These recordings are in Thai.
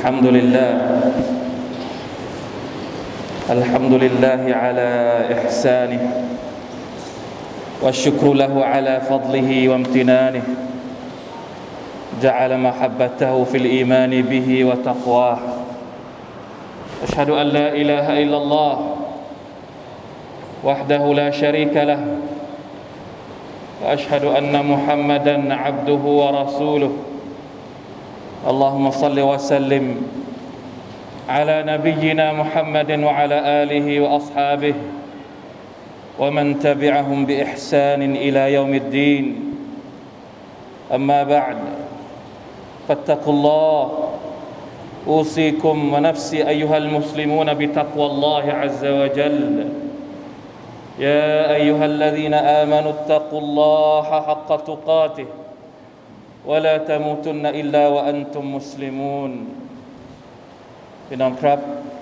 الحمد لله على إحسانه والشكر له على فضله وامتنانه جعل محبته في الإيمان به وتقواه أشهد أن لا إله إلا الله وحده لا شريك له وأشهد أن محمدًا عبده ورسوله اللهم صل وسلم على نبينا محمد وعلى آله وأصحابه ومن تبعهم بإحسان إلى يوم الدين أما بعد فاتقوا الله أوصيكم ونفسي أيها المسلمون بتقوى الله عز وجل يا أيها الذين آمنوا اتقوا الله حق تقاته ولا تموتن إلا وأنتم مسلمون พี่น้องครับ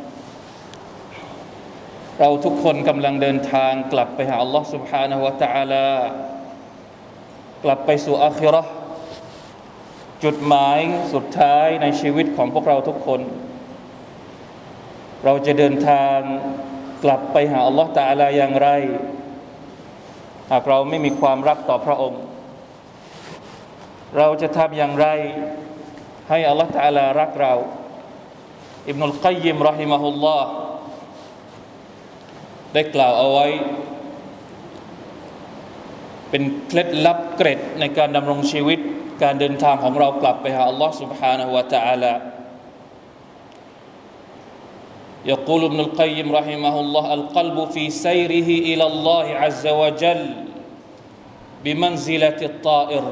เราทุกคนกำลังเดินทางกลับไปหาอัลลอฮฺ سبحانه และ تعالى กลับไปสู่อาคิเราะห์จุดหมายสุดท้ายในชีวิตของพวกเราทุกคนเราจะเดินทางกลับไปหาอัลลอฮฺ تعالى อย่างไรหากเราไม่มีความรักต่อพระองค์เราจะทำอย่างไรให้อัลลอฮฺ تعالى รักเราอิบนุลกัยยิมรอฮิมะฮุลลอฮ์ได้กล่าวเอาไว้เป็นเคล็ดลับเกร็ดในการดำรงชีวิตการเดินทางของเรากลับไปหาอัลลอฮ์ سبحانه และ تعالى يقول ابن القيم رحمه الله القلب في سيره إلى الله عز وجل بمنزلة الطائر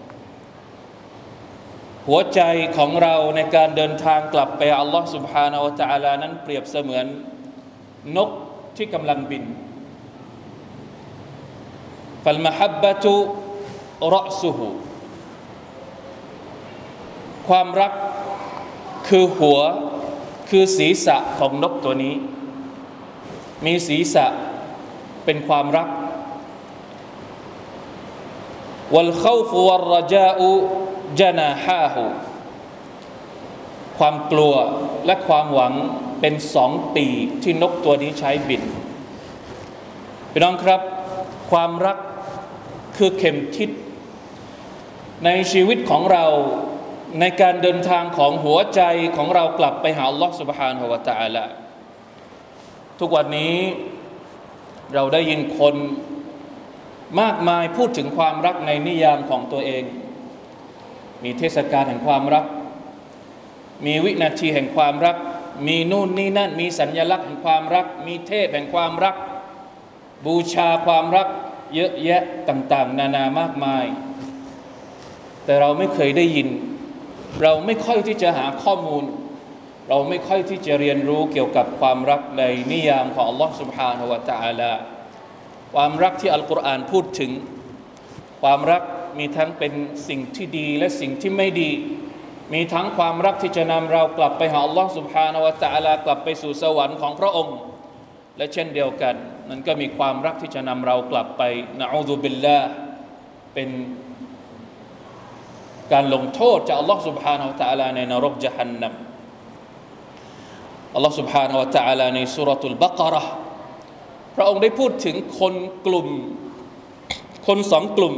หัวใจของเราในการเดินทางกลับไปอัลลอฮฺ سبحانه และ تعالى นั้นเปรียบเสมือนนกที่กำลังบิน فالمحبة رأسه ความรักคือหัวคือศีรษะของนกตัวนี้มีศีรษะเป็นความรัก والخوف والرجاءจนาฮาฮูความกลัวและความหวังเป็นสองปีกที่นกตัวนี้ใช้บินพี่น้องครับความรักคือเข็มทิศในชีวิตของเราในการเดินทางของหัวใจของเรากลับไปหาอัลลอฮฺ سبحانه และ تعالى ทุกวันนี้เราได้ยินคนมากมายพูดถึงความรักในนิยามของตัวเองมีเทศกาลแห่งความรักมีวินาทีแห่งความรักมีนู่นนี่นั่นมีสัญลักษณ์แห่งความรักมีเทพแห่งความรักบูชาความรักเยอะแยะต่างๆนานามากมายแต่เราไม่เคยได้ยินเราไม่ค่อยที่จะหาข้อมูลเราไม่ค่อยที่จะเรียนรู้เกี่ยวกับความรักในนิยามของอัลลอฮฺ سبحانه และ تعالى ความรักที่อัลกุรอานพูดถึงความรักมีทั้งเป็นสิ่งที่ดีและสิ่งที่ไม่ดีมีทั้งความรักที่จะนำเรากลับไปหาอัลลอฮฺ سبحانه และ تعالى กลับไปสู่สวรรค์ของพระองค์และเช่นเดียวกันนั้นก็มีความรักที่จะนำเรากลับไปนะอูซุบิลลาห์เป็นการลงโทษจากอัลลอฮฺ سبحانه และ تعالى ในนรกญะฮันนัมอัลลอฮฺ سبحانه และ تعالى ในซูเราะตุลบะเกาะเราะห์พระองค์ได้พูดถึงคนสองกลุ่ม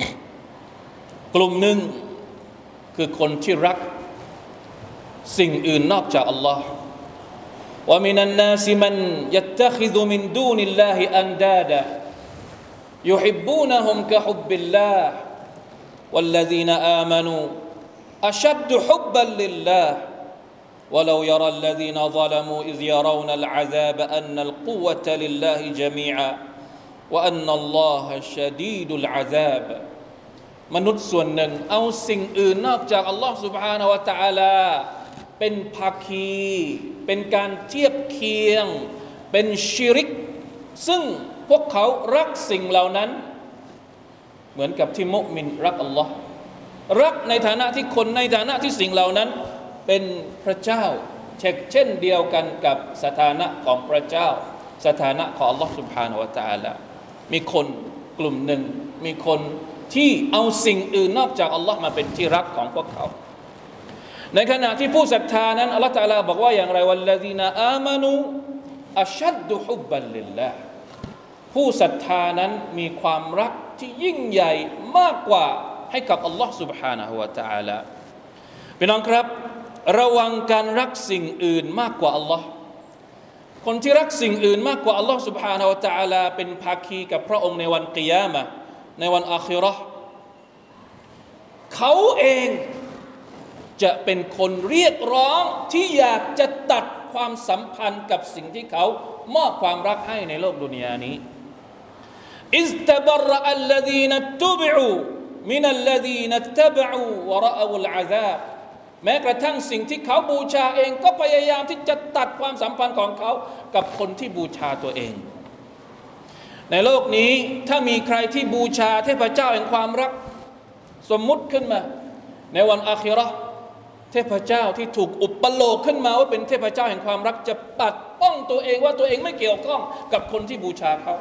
หนึ่งคือคนที่รักสิ่งอื่นนอกจากอัลลอฮ์ว่ามินันนาสมันยัตตะคิซุมินดูนิลลาฮิอันดาดะยุฮิบบูนะฮุมกะฮุบบิลลาห์วัลลซีนะอามานูอัชัดดุฮุบบันลิลลาห์ولو يرى الذين ظلموا إذ يرون العذاب أن القوة لله جميعا وأن الله شديد العذابมนุษย์ส่วนหนึ่งเอาสิ่งอื่นนอกจากอัลลอฮฺ سبحانه และ تعالى เป็นภาคีเป็นการเทียบเคียงเป็นชิริกซึ่งพวกเขารักสิ่งเหล่านั้นเหมือนกับที่มุมินรักอัลลอฮ์รักในฐานะที่คนในฐานะที่สิ่งเหล่านั้นเป็นพระเจ้าเช่นเดียวกันกับสถานะของพระเจ้าสถานะของอัลลอฮ์ سبحانه และ تعالى มีคนกลุ่มหนึ่งมีคนที่เอาสิ่งอื่นนอกจากอัลลอฮ์มาเป็นที่รักของพวกเขาในขณะที่ผู้ศรัทธานั้นอัลเลาะห์ตะอาลาบอกว่าอย่างไรวัลลซีนาอามานูอัชัดดุฮุบบันลิลลาห์ผู้ศรัทธานั้นมีความรักที่ยิ่งใหญ่มากกว่าให้กับอัลลอฮ์ سبحانه และ تعالى พี่น้องครับระวังการรักสิ่งอื่นมากกว่าอัลลอฮ์คนที่รักสิ่งอื่นมากกว่าอัลลอฮ์ سبحانه และ تعالى เป็นภาคีกับพระองค์ในวันกิยามะห์ในวันอาคิเราะห์เขาเองจะเป็นคนเรียกร้องที่อยากจะตัดความสัมพันธ์กับสิ่งที่เขามอบความรักให้ในโลกดุนยานี้อิสตะบรอัลลซีนัตตุบิอูมินัลลซีนัตตะบะอูวะรออูลอาซาบแม้กระทั่งสิ่งที่เขาบูชาเองก็พยายามที่จะตัดความสัมพันธ์ของเขากับคนที่บูชาตัวเองในโลกนี้ถ้ามีใครที่บูชาเทพเจ้าแห่งความรักสมมุติขึ้นมาในวันอาคิเราะห์เทพเจ้าที่ถูกอุปโลกขึ้นมาว่าเป็นเทพเจ้าแห่งความรักจะปัดป้องตัวเองว่าตัวเองไม่เกี่ยวข้องกับคนที่บูชาเขา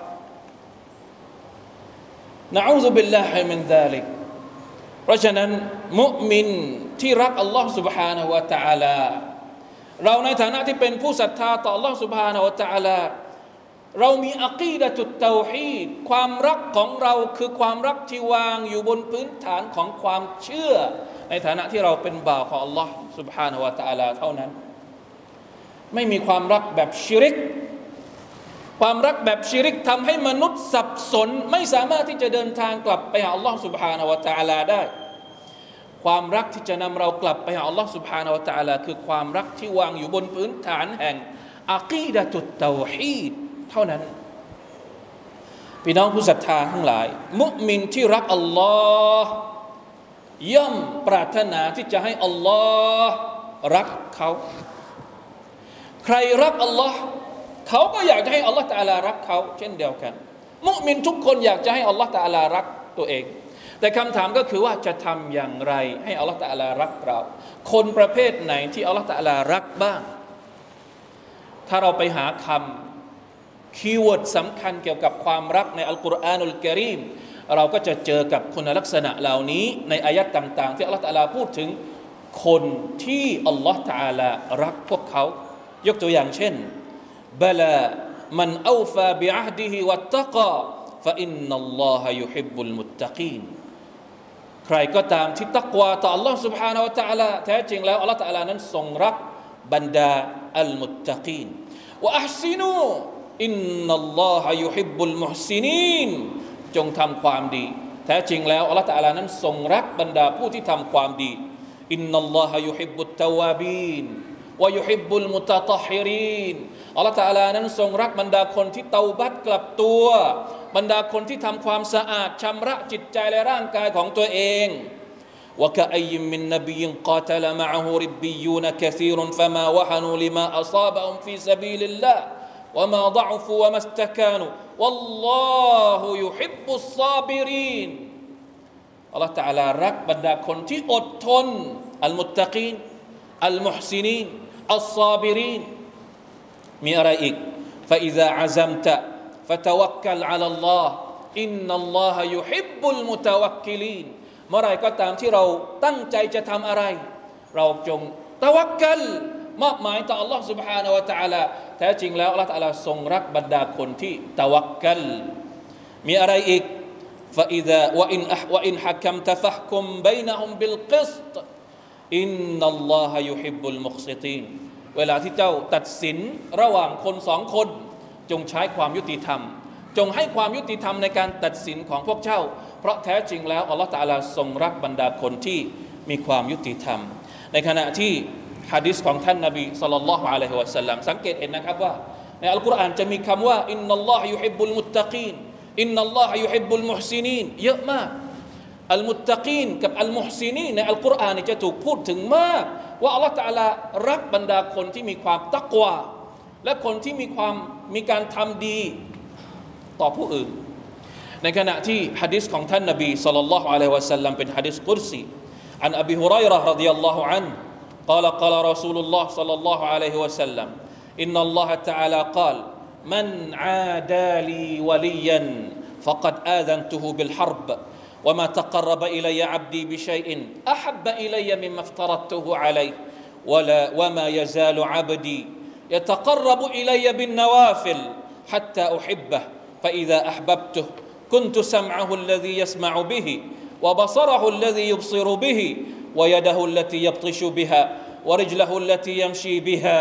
นะอูซุบิลลาฮิมินซาลิกเพราะฉะนั้นมุมินที่รักอัลลอฮ์ سبحانه และ تعالى เราในฐานะที่เป็นผู้ศรัทธาต่ออัลลอฮ์ سبحانه และ تعالى เรามีอะกีดะตุตเตาฮีดความรักของเราคือความรักที่วางอยู่บนพื้นฐานของความเชื่อในฐานะที่เราเป็นบ่าวของอัลลอฮ์ سبحانه และ تعالى เท่านั้นไม่มีความรักแบบชิริกความรักแบบชิริกทำให้มนุษย์สับสนไม่สามารถที่จะเดินทางกลับไปหาอัลลอฮ์ سبحانه และ تعالى ได้ความรักที่จะนำเรากลับไปหาอัลลอฮ์ سبحانه และ تعالى คือความรักที่วางอยู่บนพื้นฐานแห่งอะกีดะตุตเตาฮีดเท่านั้นพี่น้องผู้ศรัทธาทั้งหลายมุมินที่รักอัลลอฮ์ย่อมปรารถนาที่จะให้อัลลอฮ์รักเขาใครรักอัลลอฮ์เขาก็อยากจะให้อัลลอฮ์ตะอาลารักเขาเช่นเดียวกันมุมินทุกคนอยากจะให้อัลลอฮ์ตะอาลารักตัวเองแต่คำถามก็คือว่าจะทำอย่างไรให้อัลลอฮ์ตะอาลารักเราคนประเภทไหนที่อัลลอฮ์ตะอาลารักบ้างถ้าเราไปหาคำคีย์เวิร์ดสำคัญเกี่ยวกับความรักในอัลกุรอานุลกะรีมเราก็จะเจอกับคุณลักษณะเหล่านี้ในอายะห์ต่างๆที่อัลลอฮ์ตะอาลาพูดถึงคนที่อัลลอฮ์ตะอาลารักพวกเขายกตัวอย่างเช่นบลามันเอาฟาบิอะฮดิฮิวัตตะกอฟะอินนัลลอฮะยุฮิบบุลมุตตะกีนใครก็ตามที่ตักวาต่ออัลลอฮ์ سبحانه และ تعالى แท้จริงแล้วอัลลอฮ์ تعالى นั้นทรงรักบรรดาอัลมุตตะกีนวะอัห์ซินูอินนัลลอฮะยุฮิบบุลมุฮซินีนจงทำความดีแท้จริงแล้วอัลลอฮ์ تعالى นั้นทรงรักบรรดาผู้ที่ทำความดีอินนัลลอฮะยุฮิบบุตตะวาบีนวะยุฮิบบุลมุตะฏอฮิรีนอัลลอฮฺตะอาลานั้นทรงรักบรรดาคนที่เตาบัตกลับตัวบรรดาคนที่ทำความสะอาดชำระจิตใจและร่างกายของตัวเองวะกะอัยมินนบีกาตะลมะอะฮูริบบียูนกะซีรฟะมาวะฮนูลิมาอัศาบะฮุมฟีซะบีลิลลาห์วะมาฎะอฟูวะมัสตะกานูวัลลอฮุยุฮิบบุศศอบิรีนอัลลอฮฺตะอาลารักบรรดาคนที่อดทนอัลมุตตะกีนอัลมุฮซินีนอัศศอบิรีนมีอะไรอีก فإذا عزمت فتوكل على الله إن الله يحب المتوكلين เมื่อไรก็ตามที่เราตั้งใจจะทำอะไรเราจงตะวักกัลมอบหมายต่อ Allah سبحانه และ تعالى แท้จริงแล้ว Allah تعالى ทรงรักบรรดาคนที่ตะวักกัลมีอะไรอีก فإذا وإن حكمت فاحكم بينهم بالقسط إن الله يحب المقسطينเวลาที่เจ้าตัดสินระหว่างคนสองคนจงใช้ความยุติธรรมจงให้ความยุติธรรมในการตัดสินของพวกเจ้าเพราะแท้จริงแล้วอัลลอฮฺตะอาลาทรงรักบรรดาคนที่มีความยุติธรรมในขณะที่หะดีษของท่านนบีศ็อลลัลลอฮุอะลัยฮิวะซัลลัมสังเกตเห็นนะครับว่าในอัลกุรอานจะมีคำว่าอินนัลลอฮะยุฮิบบุลมุตตะกีนอินนัลลอฮะยุฮิบบุลมุฮซินีนเยอะมากอัลมุตตะกีนกับอัลมุฮซินีนในอัลกุรอานจะถูกพูดถึงมากว่าอัลลอฮฺตะอาลารักบรรดาคนที่มีความตักวาและคนที่มีการทำดีต่อผู้อื่นในขณะที่หะดีษของท่านนบีศ็อลลัลลอฮุอะลัยฮิวะซัลลัมเป็นหะดีษกุรซีอันอบีฮุรอยเราะห์รอฎิยัลลอฮุอันฮุ قال قال رسول الله صلى الله عليه وسلم إن الله تعالى قال من عادى لي وليا فقد آذنته بالحرب وما تقرب إلي عبدي بشيء أحب إلي مما افترضته عليه وما يزال عبدي يتقرب إلي بالنوافل حتى أحبه فإذا أحببته كنت سمعه الذي يسمع به وبصره الذي يبصر به ويده التي يبطش بها ورجله التي يمشي بها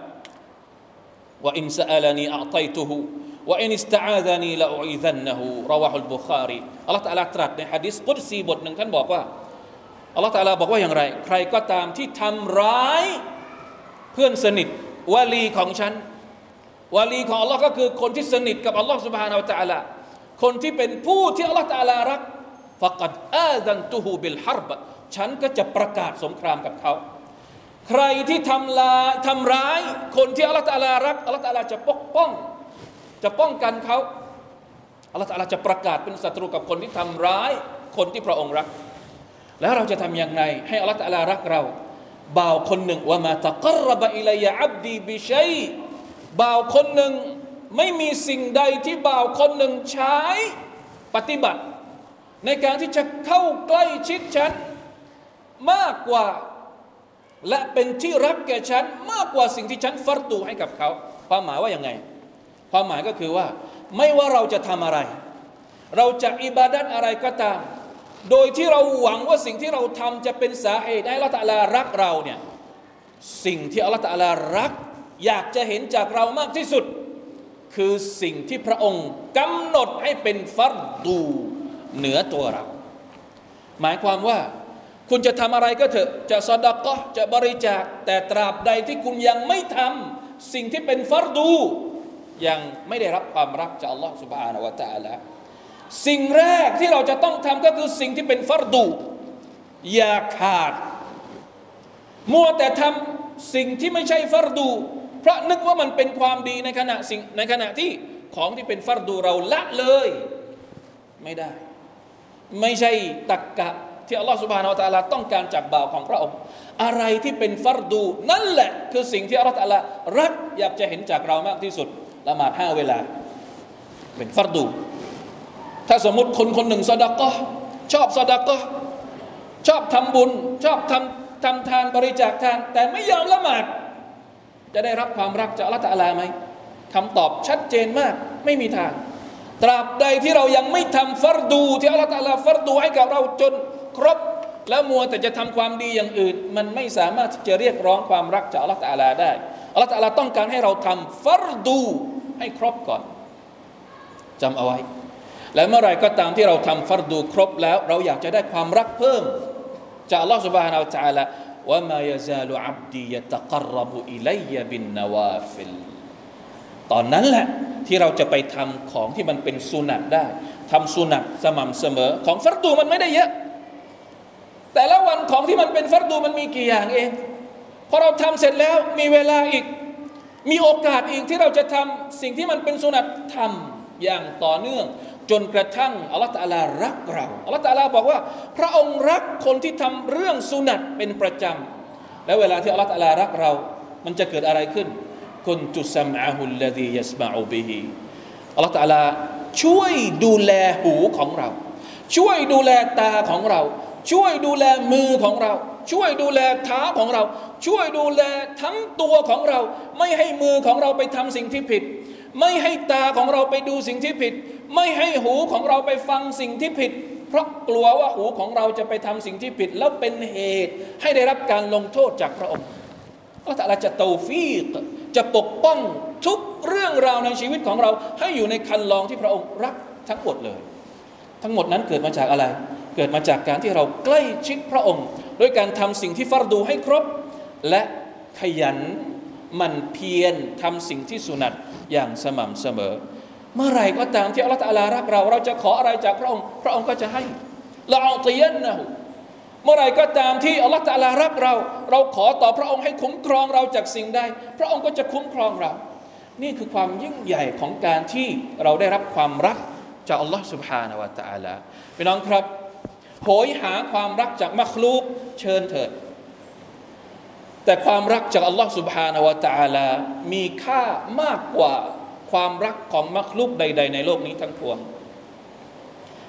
وإن سألني أعطيته وإن استعاذني لأعيذنه رواه البخاري อัลเลาะห์ตะอาลาตรัสในหะดีษกุดซีบทหนึ่งท่านบอกว่าอัลเลาะห์ตะอาลาบอกว่าอย่างไรใครก็ตามที่ทำร้ายเพื่อนสนิทวะลีของฉันวะลีของอัลเลาะห์ก็คือคนที่สนิทกับอัลเลาะห์ซุบฮานะฮูวะตะอาลาคนที่เป็นผู้ที่อัลเลาะห์ตะอาลารักฟะกัดอาซันตุฮูบิลฮารบฉันก็จะประกาศสงครามกับเขาใครที่ทำร้ายคนที่อัลเลาะห์ตะอาลารักอัลเลาะห์ตะอาลาจะปกป้องจะป้องกันเขาอัลเลาะห์ตะอาลาจะประกาศเป็นศัตรูกับคนที่ทำร้ายคนที่พระองค์รักแล้วเราจะทำอย่างไรให้อัลเลาะห์ตะอาลารักเราบ่าวคนหนึ่งว่ามาตะกัรรบะอิลัยยะอับดีบิชัยบ่าวคนหนึ่งไม่มีสิ่งใดที่บ่าวคนหนึ่งใช้ปฏิบัติในการที่จะเข้าใกล้ชิดฉันมากกว่าและเป็นที่รักแก่ฉันมากกว่าสิ่งที่ฉันฟัรดูให้กับเขาความหมายว่าอย่างไงความหมายก็คือว่าไม่ว่าเราจะทำอะไรเราจะอิบาดัตอะไรก็ตามโดยที่เราหวังว่าสิ่งที่เราทำจะเป็นสาเหตุให้อัลเลาะห์ตะอาลารักเราเนี่ยสิ่งที่อัลเลาะห์ตะอาลารักอยากจะเห็นจากเรามากที่สุดคือสิ่งที่พระองค์กำหนดให้เป็นฟัรดูเหนือตัวเราหมายความว่าคุณจะทำอะไรก็เถอะจะซอดาเกาะห์จะบริจาคแต่ตราบใดที่คุณยังไม่ทำสิ่งที่เป็นฟัรดูยังไม่ได้รับความรักจากอัลลอฮฺซุบฮานะฮูวะตะอาลาสิ่งแรกที่เราจะต้องทำก็คือสิ่งที่เป็นฟัรดูอย่าขาดมัวแต่ทำสิ่งที่ไม่ใช่ฟัรดูเพราะนึกว่ามันเป็นความดีในขณะที่ของที่เป็นฟัรดูเราละเลยไม่ได้ไม่ใช่ตักกะที่อัลลอฮฺซุบฮานะฮูวะตะอาลาต้องการจากบ่าวของพระองค์อะไรที่เป็นฟัรดูนั่นแหละคือสิ่งที่อัลลอฮฺตะอาลารักอยากจะเห็นจากเรามากที่สุดละหมาด5เวลาเป็นฟัรดูถ้าสมมุติคนหนึ่งซอดาเกาะห์ชอบซอดาเกาะห์ชอบทำบุญชอบทำทานบริจาคทานแต่ไม่ยอมละหมาดจะได้รับความรักจากอัลเลาะห์ตะอาลาไหมคำตอบชัดเจนมากไม่มีทางตราบใดที่เรายังไม่ทำฟัรดูที่อัลเลาะห์ตะอาลาฟัรดูให้กับเราจนครบแล้วมัวแต่จะทำความดีอย่างอื่นมันไม่สามารถที่จะเรียกร้องความรักจากอัลเลาะห์ตะอาลาได้อัลเลาะห์ตะอาลาต้องการให้เราทำฟัรดูให้ครบก่อนจำเอาไว้และเมื่อไรก็ตามที่เราทำฟัรดูครบแล้วเราอยากจะได้ความรักเพิ่มจากอัลลอฮฺ سبحانه และ تعالى ว่ามา يزال عبدي يتقرب إلي بالنوافل ตอนนั้นแหละที่เราจะไปทำของที่มันเป็นสุนัตได้ทำสุนัตสม่ำเสมอของฟัรดูมันไม่ได้เยอะแต่ละวันของที่มันเป็นฟัรดูมันมีกี่อย่างเองพอเราทำเสร็จแล้วมีเวลาอีกมีโอกาสอีกที่เราจะทำสิ่งที่มันเป็นสุนัตทำอย่างต่อเนื่องจนกระทั่งอัลเลาะห์ตะอาลารักเราอัลเลาะห์ตะอาลาบอกว่าพระองค์รักคนที่ทำเรื่องสุนัตเป็นประจำและเวลาที่อัลเลาะห์ตะอาลารักเรามันจะเกิดอะไรขึ้นกุนตุซัมอะฮุลลซียัสมะอูบิฮิอัลเลาะห์ตะอาลาช่วยดูแลหูของเราช่วยดูแลตาของเราช่วยดูแลมือของเราช่วยดูแลเท้าของเราช่วยดูแลทั้งตัวของเราไม่ให้มือของเราไปทำสิ่งที่ผิดไม่ให้ตาของเราไปดูสิ่งที่ผิดไม่ให้หูของเราไปฟังสิ่งที่ผิดเพราะกลัวว่าหูของเราจะไปทำสิ่งที่ผิดแล้วเป็นเหตุให้ได้รับการลงโทษจากพระองค์อัลเลาะห์ตะอาลาจะตอฟีกจะปกป้องทุกเรื่องราวในชีวิตของเราให้อยู่ในคันลองที่พระองค์รักทั้งหมดเลยทั้งหมดนั้นเกิดมาจากอะไรเกิดมาจากการที่เราใกล้ชิดพระองค์ด้วยการทำสิ่งที่ฟัรดูให้ครบและขยันหมั่นเพียรทำสิ่งที่สุนัตอย่างสม่ำเสมอเมื่อไรก็ตามที่อัลเลาะห์ตะอาลารักเราจะขออะไรจากพระองค์พระองค์ก็จะให้ละอูติยันนะฮูเมื่อไรก็ตามที่อัลเลาะห์ตะอาลารักเราขอต่อพระองค์ให้คุ้มครองเราจากสิ่งใดพระองค์ก็จะคุ้มครองเรานี่คือความยิ่งใหญ่ของการที่เราได้รับความรักจากอัลลอฮฺ سبحانه และ تعالى พี่น้องครับโหยหาความรักจากมัคลูกเชิญเถิดแต่ความรักจากอัลลอฮฺ سبحانه และ تعالى มีค่ามากกว่าความรักของมัคลุกใดๆในโลกนี้ทั้งปวง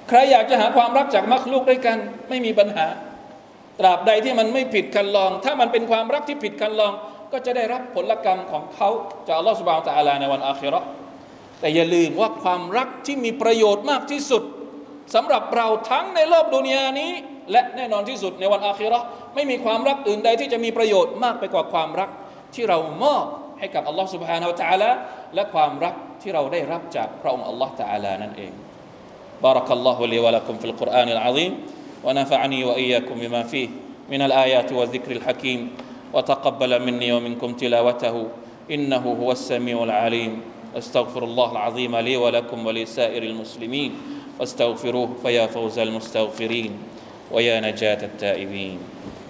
ใครอยากจะหาความรักจากมักลุกด้วยกันไม่มีปัญหาตราบใดที่มันไม่ผิดคันลองถ้ามันเป็นความรักที่ผิดคันลองก็จะได้รับผลกรรมของเขาจากอัลลอฮฺซุบฮานะฮูวะตะอาลาในวันอาคิเราะห์แต่อย่าลืมว่าความรักที่มีประโยชน์มากที่สุดสำหรับเราทั้งในโลกดุนยานี้และแน่นอนที่สุดในวันอาคิเราะห์ไม่มีความรักอื่นใดที่จะมีประโยชน์มากไปกว่าความรักที่เรามอบให้กับอัลลอฮฺซุบฮานะฮูวะตะอาลาและความรักที่เราได้รับจากพระองค์อัลลอฮฺตะอาลานั่นเองبارك الله لي ولكم في القرآن العظيم ونفعني وإياكم بما فيه من الآيات والذكر الحكيم وتقبل مني ومنكم تلاوته إنه هو السميع العليم أستغفر الله العظيم لي ولكم ولسائر المسلمين واستغفروه فيا فوز المستغفرين ويا نجاة التائبين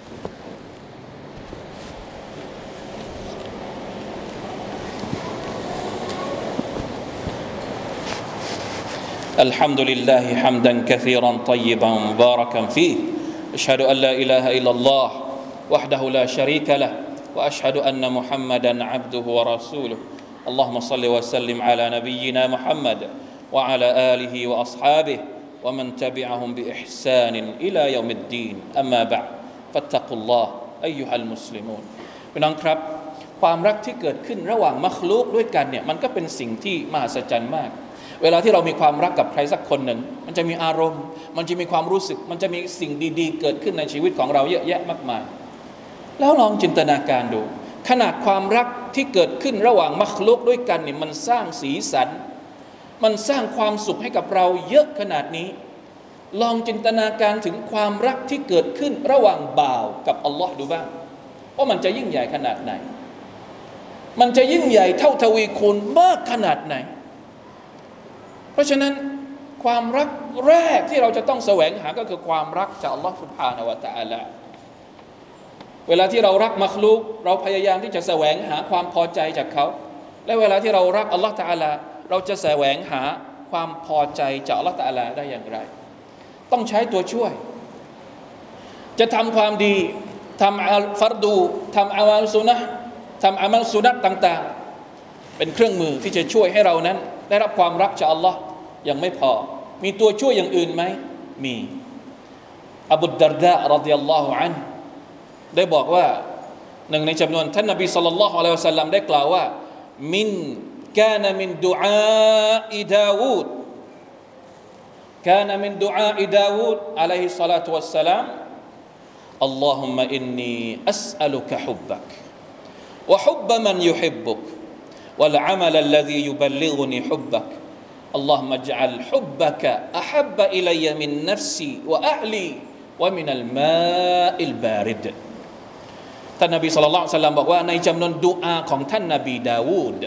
الحمد لله حمدا كثيرا طيبا مباركا فيه أشهد أن لا إله إلا الله وحده لا شريك له وأشهد أن محمدا عبده ورسوله اللهم صل وسلم على نبينا محمد وعلى آله وأصحابه ومن تبعهم بإحسان إلى يوم الدين أما بعد فاتقوا الله أيها المسلمون พี่น้องครับความรักที่เกิดขึ้นระหว่างมัคลุกด้วยกันเนี่ยมันก็เป็นสิ่งที่มหัศจรรย์มากเวลาที่เรามีความรักกับใครสักคนหนึ่งมันจะมีอารมณ์มันจะมีความรู้สึกมันจะมีสิ่งดีๆเกิดขึ้นในชีวิตของเราเยอะแยะมากมายแล้วลองจินตนาการดูขนาดความรักที่เกิดขึ้นระหว่างมัคลุกด้วยกันเนี่ยมันสร้างสีสันมันสร้างความสุขให้กับเราเยอะขนาดนี้ลองจินตนาการถึงความรักที่เกิดขึ้นระหว่างบ่าวกับอัลลอฮ์ดูบ้างว่ามันจะยิ่งใหญ่ขนาดไหนมันจะยิ่งใหญ่เท่าทวีคูณมากขนาดไหนเพราะฉะนั้นความรักแรกที่เราจะต้องแสวงหาก็คือความรักจากอัลลอฮฺ سبحانه และ تعالى เวลาที่เรารักมัคลุกเราพยายามที่จะแสวงหาความพอใจจากเขาและเวลาที่เรารักอัลลอฮฺ تعالى เราจะแสวงหาความพอใจจากอัลลอฮฺ تعالى ได้อย่างไรต้องใช้ตัวช่วยจะทำความดีทำอัลฟัรดูทำอามัลซุนะห์ทำอามัลซุนัตต่างๆเป็นเครื่องมือที่จะช่วยให้เรานั้นได้รับความรักจากอัลลอฮ์ยังไม่พอมีตัวช่วยอย่างอื่นไหมมีอบูดาร์ดะห์รอฎิยัลลอฮุอันฮุได้บอกว่าหนึ่งในจำนวนท่านนบีศ็อลลัลลอฮุอะลัยฮิวะซัลลัมได้กล่าวว่ามินกานะมินดุอาอิดาวูดกานะมินดุอาอิดาวูดอะลัยฮิศศอลาตุวัสสลามอัลลอฮุมมะอินนีอัสอะลุกะฮุบบักวะฮุบบัมันยุฮิบบุกوالعمل الذي يبلغني حبك اللهم اجعل حبك أحب إلي من نفسي وأهلي ومن الماء البارد ท่านนบีศ็อลลัลลอฮุอะลัยฮิวะซัลลัมบอกว่าในจำนวนดุอาของท่านนบีดาวูด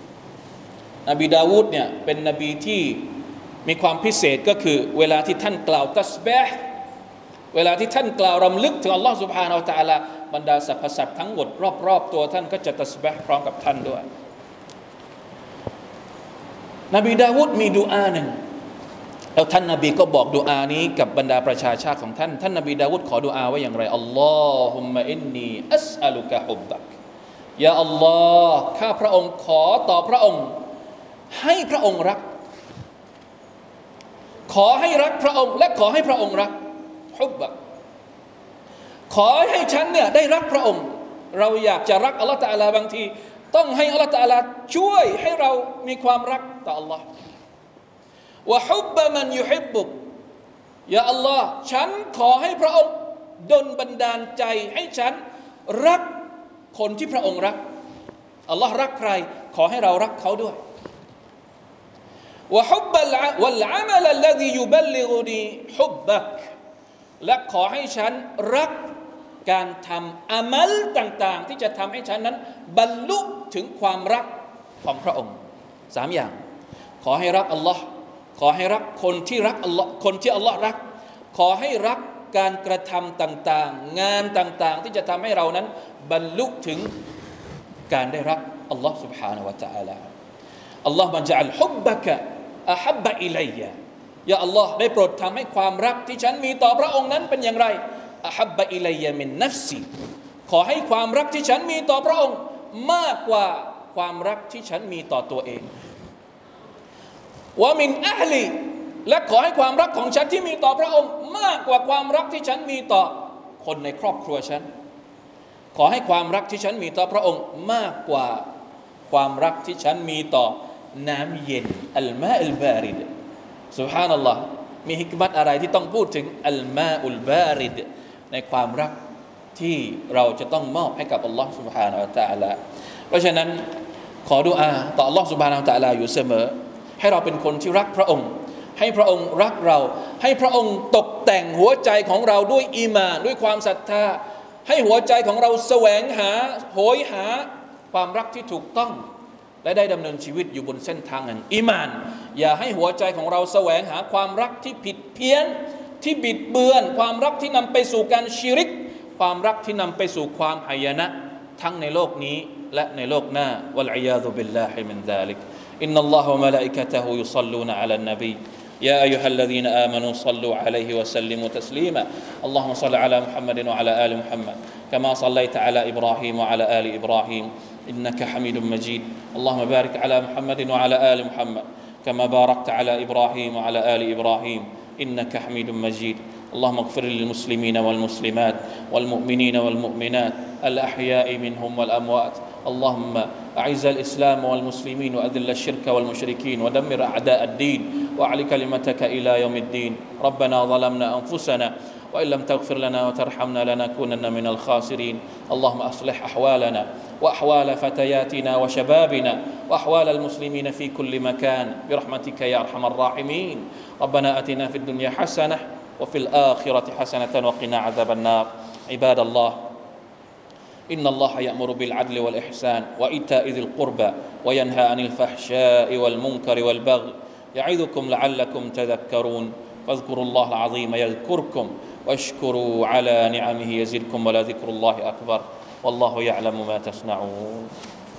เนี่ยเป็นนบีที่มีความพิเศษก็คือเวลาที่ท่านกล่าวตัสบีห์เวลาที่ท่านกล่าวรำลึกถึงอัลลอฮฺซุบฮานะฮูวะตะอาลาบรรดาสรรพสัตว์ทั้งหมดรอบๆตัวท่านก็จะตัสบีห์พร้อมกับท่านด้วยนบีดาวูดมีดุอาหนึ่งแล้วท่านนบีก็บอกดุอานี้กับบรรดาประชาชาติของท่านท่านนบีดาวูดขอดุอาไว้อย่างไรอัลลอฮุมมะอินนีอัสอะลุกะฮุบบักยาอัลลอฮ์ข้าพระองค์ขอต่อพระองค์ให้พระองค์รักขอให้รักพระองค์และขอให้พระองค์รักฮุบบักขอให้ฉันเนี่ยได้รักพระองค์เราอยากจะรักอัลลอฮฺตะอาลาบางทีต้องให้อัลลอฮฺตะอาลาช่วยให้เรามีความรักต่ออัลลอฮฺวะฮุบบะมันยุฮิบบุกยาอัลลอฮฺฉันขอให้พระองค์ดลบันดาลใจให้ฉันรักคนที่พระองค์รักอัลลอฮฺรักใครขอให้เรารักเขาด้วยวะฮุบบะวัลอามัลลซียุบัลลิกุนีฮุบบักและขอให้ฉันรักการทำอามัลต่างๆที่จะทำให้ฉันนั้นบรรลุถึงความรักของพระองค์3อย่างขอให้รักอัลลอฮ์ขอให้รักคนที่รักอัลลอฮ์คนที่อัลลอฮ์รักขอให้รักการกระทำต่างๆงานต่างๆที่จะทำให้เรานั้นบรรลุถึงการได้รักอัลลอฮ์ سبحانه และ تعالى อัลลอฮ์บัญญัติฮุบบะกะอะฮับบะอิลัยยะยาอัลลอฮ์ได้โปรดทำให้ความรักที่ฉันมีต่อพระองค์นั้นเป็นอย่างไรอะฮับบะอิลัยยะมินนัฟซีขอให้ความรักที่ฉันมีต่อพระองค์มากกว่าความรักที่ฉันมีต่อตัวเองวะมินอะห์ลีและขอให้ความรักของฉันที่มีต่อพระองค์มากกว่าความรักที่ฉันมีต่อคนในครอบครัวฉันขอให้ความรักที่ฉันมีต่อพระองค์มากกว่าความรักที่ฉันมีต่อน้ำเย็นอัลมาอัลบาริดซุบฮานัลลอฮ์มีฮิกมัตอะไรที่ต้องพูดถึงอัลมาอุลบาริดในความรักที่เราจะต้องมอบให้กับอัลลอฮ์ซุบฮานะฮูวะตะอาลาเพราะฉะนั้นขอดุอาต่ออัลลอฮ์ซุบฮานะฮูวะตะอาลาอยู่เสมอให้เราเป็นคนที่รักพระองค์ให้พระองค์รักเราให้พระองค์ตกแต่งหัวใจของเราด้วยอีหม่านด้วยความศรัทธาให้หัวใจของเราแสวงหาโหยหาความรักที่ถูกต้องและได้ดำเนินชีวิตอยู่บนเส้นทางแห่งอีหม่านอย่าให้หัวใจของเราแสวงหาความรักที่ผิดเพี้ยนที่บิดเบือนความรักที่นำไปสู่การชิริกความรักที่นำไปสู่ความหายนะทั้งในโลกนี้และในโลกหน้าวัลอียาซุบิลลาฮิมินซาลิกอินนัลลอฮะวะมะลาอิกะตุฮุยุศ็อลลูนะอะลันนบี يا أيها الذين آمنوا صلوا عليه وسلموا تسليما اللهم صل على محمد وعلى آل محمد كما صليت على إبراهيم وعلى آل إبراهيم إنك حميد مجيد اللهم بارك على محمد وعلى آل محمد كما باركت على إبراهيم وعلى آل إبراهيم إنك حميد مجيد اللهم اغفر للمسلمين والمسلمات والمؤمنين والمؤمنات الأحياء منهم والأموات اللهم أعز الإسلام والمسلمين وأذل الشرك والمشركين ودمر أعداء الدين وأعل كلمتك إلى يوم الدين ربنا ظلمنا أنفسنا وإن لم تغفر لنا وترحمنا لنكونن من الخاسرين اللهم أصلح أحوالنا وأحوال فتياتنا وشبابنا وأحوال المسلمين في كل مكان برحمتك يا أرحم الراحمين ربنا آتنا في الدنيا حسنة وفي الآخرة حسنة وقنا عذاب النار عباد الله إن الله يأمر بالعدل والإحسان وإيتاء ذي القربى وينهى عن الفحشاء والمنكر والبغي يعظكم لعلكم تذكرون فاذكروا الله العظيم يذكركم واشكروا على نعمه يزدكم ولذكر الله أكبر والله يعلم ما تصنعون